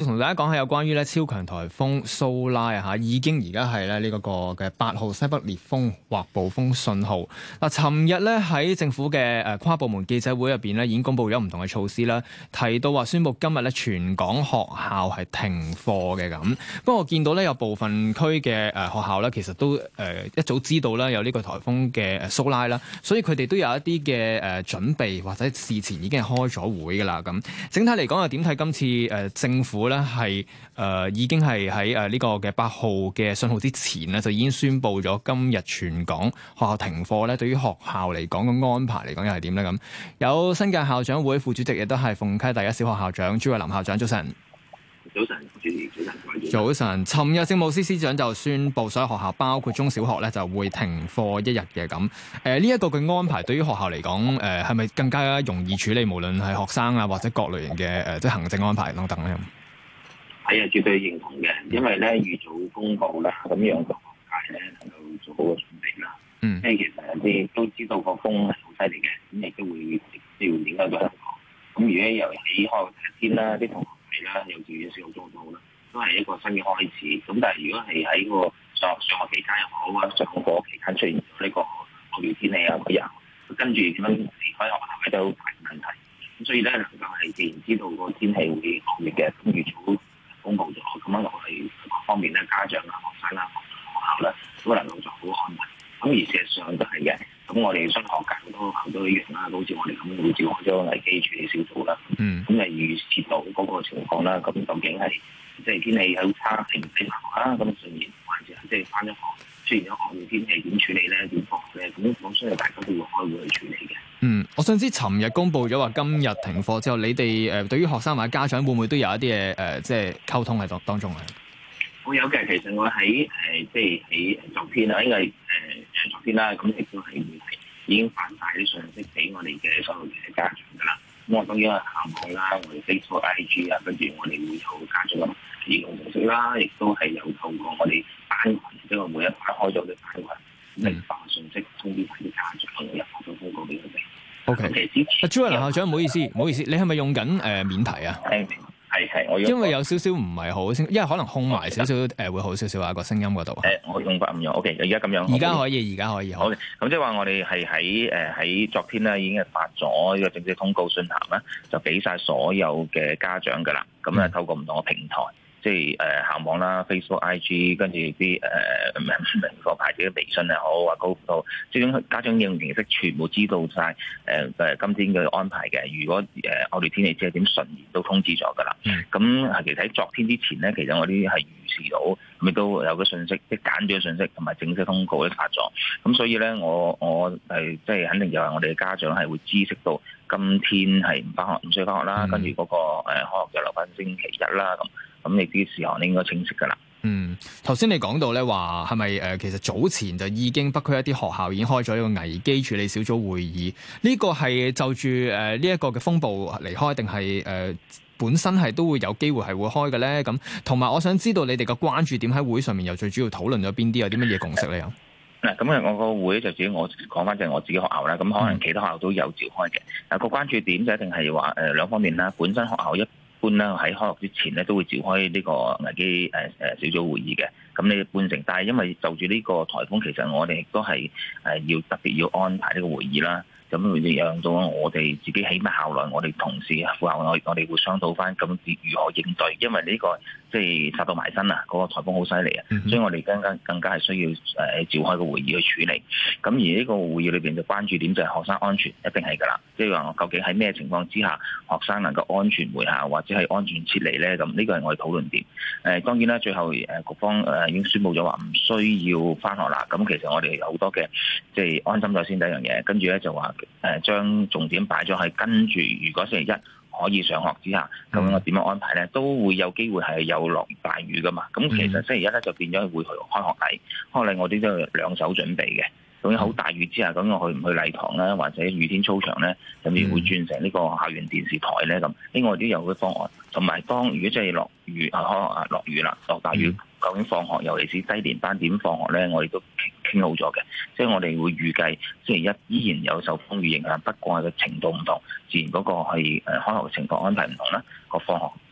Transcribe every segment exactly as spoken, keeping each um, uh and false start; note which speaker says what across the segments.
Speaker 1: 同大家講下有關於咧超強颱風蘇拉啊嚇，已經而家係咧呢個個嘅八號西北烈風或暴風信號。嗱，尋日咧喺政府嘅誒跨部門記者會入邊咧，已經公布咗唔同嘅措施啦，提到話宣布今日咧全港學校係停課嘅咁。不過我見到咧有部分區嘅誒學校咧，其實都誒一早知道啦有呢個颱風嘅誒蘇拉啦，所以佢哋都有一啲嘅誒準備或者事前已經係開咗會㗎啦咁。整體嚟講又點睇今次誒政府咧係誒已經係喺誒呢個嘅八號嘅信號之前咧，就已經宣布咗今日全港學校停課咧。對於學校嚟講嘅安排嚟講又係點咧咁？有新界校長會副主席，亦都係鳳溪第一小學校長朱偉林校長，早晨。
Speaker 2: 早晨，主持早晨，
Speaker 1: 早晨。尋日政務司司長就宣布，所有學校包括中小學咧就會停課一日嘅咁。誒呢一個嘅安排對於學校嚟講，誒係咪更加容易處理？無論係學生啊，或者各類型嘅誒、呃、即係行政安排等等咧。
Speaker 2: 係啊，絕對認同嘅，因為咧預早公佈啦，咁讓個學界咧能夠做好個準備啦。嗯，因為其實你都知道個風係好犀利嘅，咁亦都會直接影響到香港。咁如果由起開第一天啦，啲同學係啦，幼稚園、小學、中學啦，都係一個新嘅開始。咁但係如果係喺個上上學期間又好啊，上課期間出現咗呢個惡劣天氣啊嗰日，跟住點樣離開學校咧都大問題。咁所以咧能夠係既然知道個天氣會惡劣嘅，咁預早公佈咗，咁樣我哋各方面咧，家長啊、學生啦、學校咧，都能夠做好安排。咁而事實上都係嘅。咁我哋商學界好多校都一樣啦，好似我哋咁會召開咗危機處理小組啦。嗯。咁誒預設到嗰個情況啦，咁究竟係即係天氣好差，係唔使返學啦？咁順延還是即係返咗學出現咗惡劣天氣點處理咧？點放咧？咁我相信大家都會開會去處理嘅。嗯，
Speaker 1: 我想知尋日公佈咗話今日停課之後，你哋誒對於學生或者家長會唔會都有一啲嘅誒即係溝通喺當當中啊？
Speaker 2: 我有嘅，其實我喺誒、呃、即係喺昨天啦，因為誒誒昨天啦，咁亦都係會係已經發晒啲信息俾我哋嘅所有嘅家長噶啦。咁我當然係校網啦，我哋 Facebook、I G 啊，跟住我哋會有家長嘅移動模式啦，亦都係有透過我哋班群，即係每一班開咗嘅班群，嚟發信息通知翻啲家長，入發咗通告俾佢哋。
Speaker 1: O K，阿朱偉林校長，唔好意思，唔好意思，你係咪用緊誒、呃、免提啊？
Speaker 2: 係係，我
Speaker 1: 因為有少少唔係好清，因為可能控埋少少誒會好少少啊個聲音嗰度。
Speaker 2: 誒，我用法唔用 ，OK，而家咁樣。
Speaker 1: 而家可以，而家可以。好，
Speaker 2: 咁即係話我哋係喺誒喺昨天咧已經係發咗呢個正式通告信函啦，就俾晒所有嘅家長噶啦。咁咧、嗯、透過唔同嘅平台，即係誒校網啦、Facebook、I G， 跟住啲誒明課牌子嘅微信又好，或高輔導，即係家長應用形式全部知道晒誒誒今天嘅安排嘅。如果誒惡劣天氣即係點順延都通知咗噶啦。咁係、嗯、其實喺昨天之前咧，其實我哋係預示到，咁亦都有個信息，即係簡短嘅信息同埋正式通告咧發咗。咁所以咧，我我係即係肯定就係我哋嘅家長係會知悉到今天係唔翻學，唔需要翻學啦。嗯、跟住嗰個誒開學就留翻星期一啦咁。咁你啲事項你應該清晰㗎啦。
Speaker 1: 嗯，頭先你講到咧話係咪誒其實早前就已經北區一啲學校已經開咗一個危機處理小組會議？呢、這個係就住誒呢一個嘅風暴離開，定係誒本身係都會有機會係會開嘅咧？咁同埋我想知道你哋嘅關注點喺會上面又最主要討論咗邊啲？有啲乜嘢共識咧？有
Speaker 2: 嗱，咁啊，我個會就自己我講翻就係我自己學校啦。咁可能其他學校都有召開嘅。嗱、嗯，個關注點就一定係話誒兩方面啦。本身學校一般啦，喺開學之前咧都會召開呢個危機誒誒小組會議嘅。咁你半成，但係因為就住呢個颱風，其實我哋亦都係誒要特別要安排呢個會議啦。咁會讓到我哋自己起碼校內，我哋同事副校我我哋會商討翻咁如何應對，因為呢、這個即係殺到埋身啊，嗰、那個颱風好犀利啊，所以我哋更加更加係需要誒召開個會議去處理。咁而呢個會議裏邊就關注點就係學生安全，一定係㗎啦。即係話究竟喺咩情況之下，學生能夠安全回校或者係安全撤離咧？咁呢個係我哋討論點。誒、呃、當然啦，最後誒局方誒已經宣布咗話唔需要翻學啦。咁其實我哋有好多嘅即係安心咗先第一樣嘢，跟住咧就話。誒將重點擺咗喺跟住，如果星期一可以上學之下，究竟我點樣安排咧？都會有機會係有落大雨噶嘛。咁其實星期一咧就變咗會去開學禮，開學禮我哋都有兩手準備嘅。咁好大雨之下，咁我去唔去禮堂咧，或者雨天操場咧，甚至會轉成呢個校園電視台咧咁。另外都有個方案，同埋當如果真係落雨啊，可能落雨啦，落大雨，究竟放學，尤其是低年班點放學咧，我哋都傾傾好咗嘅。即係我哋會預計星期一依然有受風雨影響，不過係個程度唔同，自然嗰個係誒開學嘅情況安排唔同啦，個放學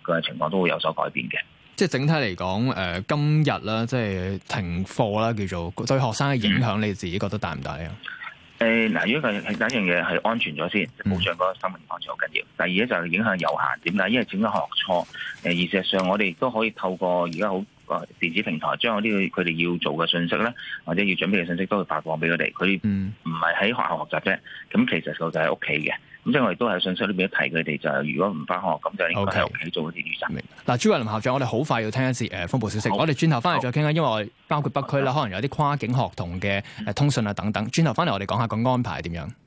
Speaker 2: 嘅情況都會有所改變嘅。
Speaker 1: 即係整體嚟講，誒、呃、今日啦，即係停課啦，叫做對學生嘅影響，你自己覺得大唔大咧？
Speaker 2: 誒嗱、呃，如果係第一樣嘢係安全咗先，保障嗰個生命安全好緊要。第二咧就係影響有限，點解？因為整個學錯，誒而事實上我哋都可以透過而家好個電子平台，將嗰啲佢哋要做嘅信息咧，或者要準備嘅信息都會發放俾佢哋。佢唔係喺學校學習啫，咁其實佢就喺屋企嘅。咁即係我哋都喺信息裏邊提佢哋就係，如果唔翻學，咁就應該喺屋企做嗰啲預習。
Speaker 1: 嗱，朱偉林校長，我哋好快要聽一次誒風暴消息，好我哋轉頭翻嚟再傾啦。因為我哋包括北區啦，可能有啲跨境學童嘅誒通訊啊等等。轉頭翻嚟，我哋講下個安排係點樣。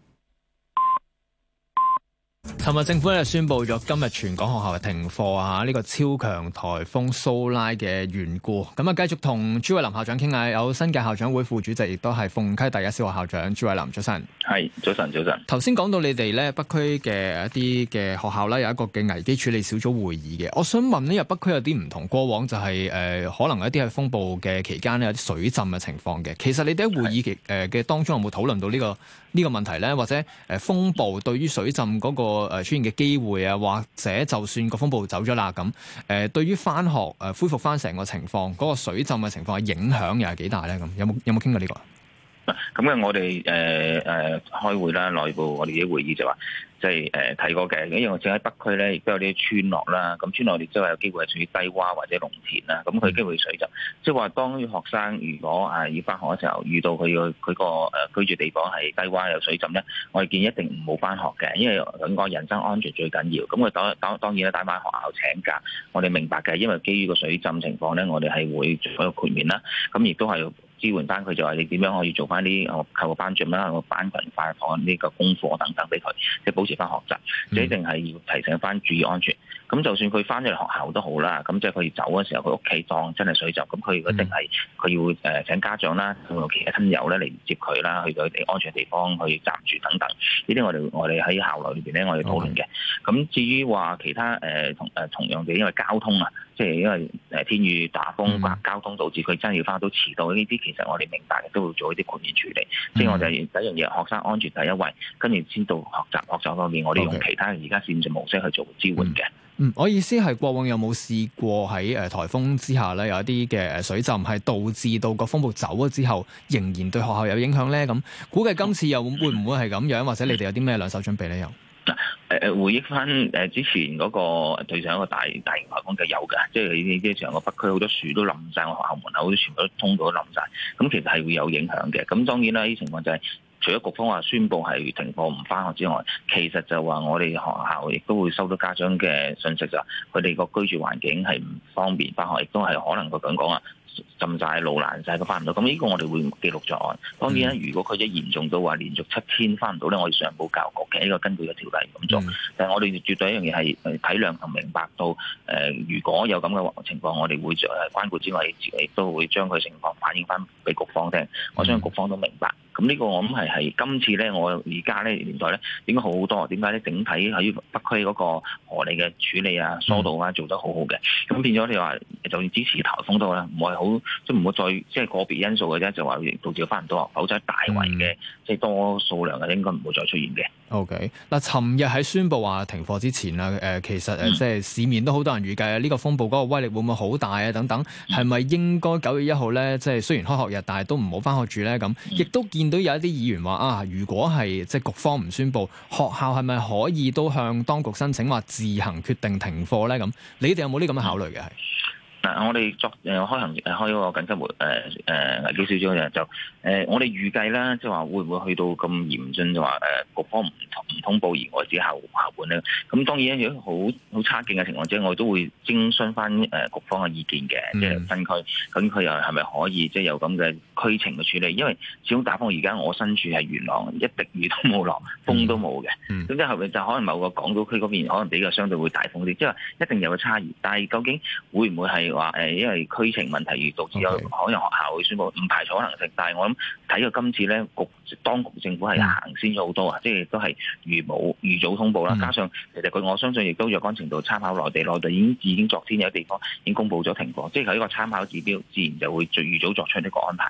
Speaker 1: 尋日政府咧宣布咗今日全港學校係停課啊！呢、這個超強颱風蘇拉嘅緣故，咁啊繼續同朱偉林校長傾下。有新界校長會副主席，亦都係鳳溪第一小學校長朱偉林，早晨。
Speaker 2: 係早晨，早晨。頭
Speaker 1: 先講到你哋咧北區嘅一啲嘅學校咧有一個嘅危機處理小組會議嘅，我想問呢日北區有啲唔同，過往就係、是、誒、呃、可能一啲係風暴嘅期間咧有啲水浸嘅情況嘅。其實你哋喺會議期誒嘅當中有冇討論到呢、這個呢、這個問題咧？或者誒、呃、風暴對於水浸嗰、那個？誒出現嘅機會啊，或者就算個風暴走咗啦，咁誒對於翻學誒恢復翻成個情況，嗰、那個水浸嘅情況嘅影響又係幾大咧？咁有冇有冇傾過呢、這個？
Speaker 2: 咁嘅我哋誒誒開會啦，內部我哋啲會議就話，即係誒提過嘅，因為我正喺北區咧，亦都有啲村落啦，咁村落亦都係有機會係屬於低洼或者農田啦，咁佢機會水浸，即係話當學生如果係要翻學嘅時候，遇到佢個佢個誒居住地方係低洼有水浸咧，我哋建議一定唔好翻學嘅，因為咁講人身安全最緊要。咁佢當當當然啦，打翻學校請假，我哋明白嘅，因為基於個水浸情況咧，我哋係會做一個豁免啦，咁亦都係。支援翻佢就話你點樣可以做翻啲我扣個班長啦，個班群發放呢個功課等等俾佢，即係保持翻學習。你一定係要提醒翻注意安全。咁就算佢翻咗嚟學校都好啦，咁即係佢走嘅時候，佢屋企當真係水浸，咁佢一定係佢要誒請家長啦，同其他親友咧嚟接佢啦，去到啲安全地方去暫住等等。呢啲我哋我哋喺校內裏邊咧，我哋討論嘅。咁 Okay. 至於話其他誒、呃、同誒同樣嘅，因為交通啊，即係因為誒天雨打風，嗯、交通導致佢真係要翻到遲到呢啲，其實我哋明白嘅，都會做一啲豁免處理。嗯、即係我哋第一樣嘢，學生安全第一位，跟住先到學習學習方面，我哋用其他而家線上模式去做支援嘅。Okay.
Speaker 1: 嗯，我意思係過往有冇試過喺誒颱風之下咧，有一啲嘅誒水浸係導致到個風暴走咗之後，仍然對學校有影響咧？咁估計今次又會唔會係咁樣？或者你哋有啲咩兩手準備咧？又
Speaker 2: 嗱誒誒，回憶翻誒之前嗰個對上一個大大型颱風嘅有嘅，即係你啲成個北區好多樹都冧晒，我學校門口啲全部都通道都冧晒，咁其實係會有影響嘅。咁當然啦，呢啲情況就係、是。除咗局方話宣布係停課唔返學之外，其實就話我哋學校亦都會收到家長嘅信息，就佢哋個居住環境係唔方便返學，亦都係可能佢咁講啊，浸晒路爛晒都返唔到。咁呢個我哋會記錄在案。當然啦，如果佢一嚴重到話連續七天返唔到咧，我哋上報教育局嘅呢個根據嘅條例咁做。嗯、但係我哋絕對一樣嘢係體諒同明白到誒、呃，如果有咁嘅情況，我哋會誒關顧之外，亦都會將佢情況反映返俾局方聽。我相信局方都明白。咁呢個我諗係係今次咧，我而家咧年代咧應該好好多。點解咧？整體喺北區嗰個河理嘅處理啊、疏導啊做得好好嘅。咁變咗你話，就算支持颱風都好啦，唔係好即係唔好再即係個別因素嘅啫，就話導致翻唔到學，否則大圍嘅即係多數量嘅應該唔會再出現嘅。
Speaker 1: OK，嗱，尋日喺宣布話停課之前啦，誒、呃、其實誒即係市面都好多人預計啊，呢個風暴嗰個威力會唔會好大啊？等等，係咪應該九月一號咧，即係雖然開學日，但係都唔好翻學住咧？咁亦都見到有一啲議員話啊，如果係即係局方唔宣布，學校係咪可以都向當局申請話自行決定停課咧？咁你哋有冇呢咁嘅考慮嘅？係？
Speaker 2: 嗱，我哋作誒開行誒開嗰個緊急會誒誒危機小組嘅就誒、呃，我哋預計啦，即係話會唔會去到咁嚴峻，就話誒局方唔唔通報而我自己校校本咧？咁當然，如果好好差勁嘅情況之下，我哋都會徵詢翻誒局方嘅意見嘅，嗯、即係分區。咁佢又係咪可以即係有咁嘅區情嘅處理？因為始終打風，而家我身處係元朗，一滴雨都冇落，風都冇嘅。咁即係後面就可能某個港島區嗰邊可能比較相對會大風啲，即係話一定有個差異。但係究竟會唔會係？話誒，因為區情問題而導致有可能學校會宣佈，唔排除可能性。但係我諗睇過今次咧，局當局政府係行先咗好多啊，嗯、即係都係預冇預早通報啦。嗯、加上其實佢我相信亦都若干程度參考內地，內地已經已經昨天有地方已經公佈咗停課，即係佢呢個參考指標，自然就會預早作出呢個安排嘅。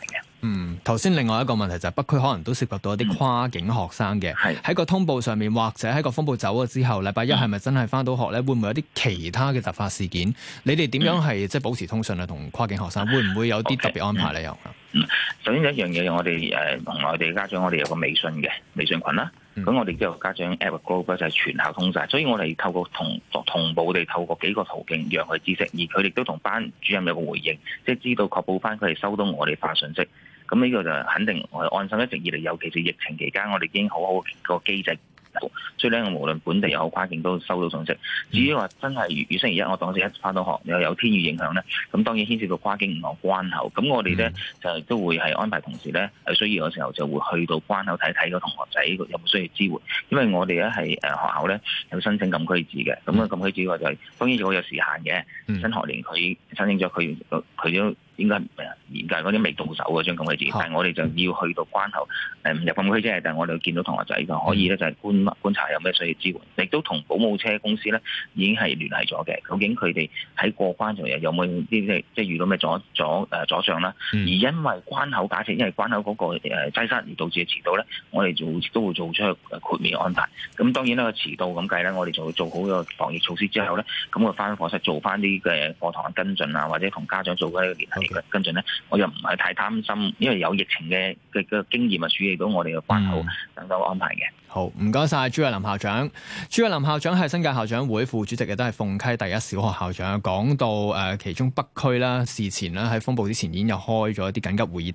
Speaker 1: 嗯，頭先另外一個問題就係北區可能都涉及到一啲跨境學生嘅，喺、嗯、個通報上面或者喺個風暴走咗之後，禮拜一係咪真係返到學咧？會唔會有啲其他嘅突發事件？你哋點樣係即係保持通訊啊？同跨境學生會唔會有啲特別安排咧？又、okay,
Speaker 2: 嗯，嗯，首先一樣嘢，我哋誒同內地家長，我哋有個微信嘅微信群啦。咁、嗯、我哋之後家長 app group 就係全校通晒，所以我哋透過同同步地透過幾個途徑讓佢知識，而佢哋都同班主任有個回應，即係知道確保翻佢哋收到我哋發信息。咁呢個就肯定我哋安心，一直以嚟，尤其是疫情期間，我哋已經好好個機制。所以咧，我無論本地又好跨境都收到信息。至於話真係如如星期一，我當時一翻到學又有天雨影響咧，咁當然牽涉到跨境唔同關口。咁我哋咧就都會係安排同事咧有需要嘅時候就會去到關口睇睇個同學仔有冇需要支援。因為我哋咧係誒學校咧有申請禁區紙嘅，咁啊禁區紙話就係、是、當然如果有時限嘅，新學年佢申請咗佢佢都。應該嚴格嗰啲未到手嗰張禁區紙，但係我哋就要去到關口誒唔入禁區啫，但係我哋見到同學仔嘅可以咧就係觀觀察有咩需要支援，亦都同保姆車公司咧已經係聯繫咗嘅。究竟佢哋喺過關上有冇啲即係即係遇到咩阻阻誒阻障啦？而因為關口假設因為關口嗰個誒擠塞而導致嘅遲到咧，我哋就都會做出豁免安排。咁當然啦，個遲到咁計咧，我哋就會做好個防疫措施之後咧，咁我翻課室做翻啲嘅課堂跟進啊，或者同家長做嗰啲聯繫。跟進咧，我又唔係太擔心，因為有疫情嘅嘅嘅經驗啊，處理到我哋嘅關口等等安排嘅。
Speaker 1: 好，唔該晒朱偉林校長。朱偉林校長係新界校長會副主席，亦都係鳳溪第一小學校長。講到誒、呃、其中北區啦，事前啦喺風暴之前已經有開咗一啲緊急會議。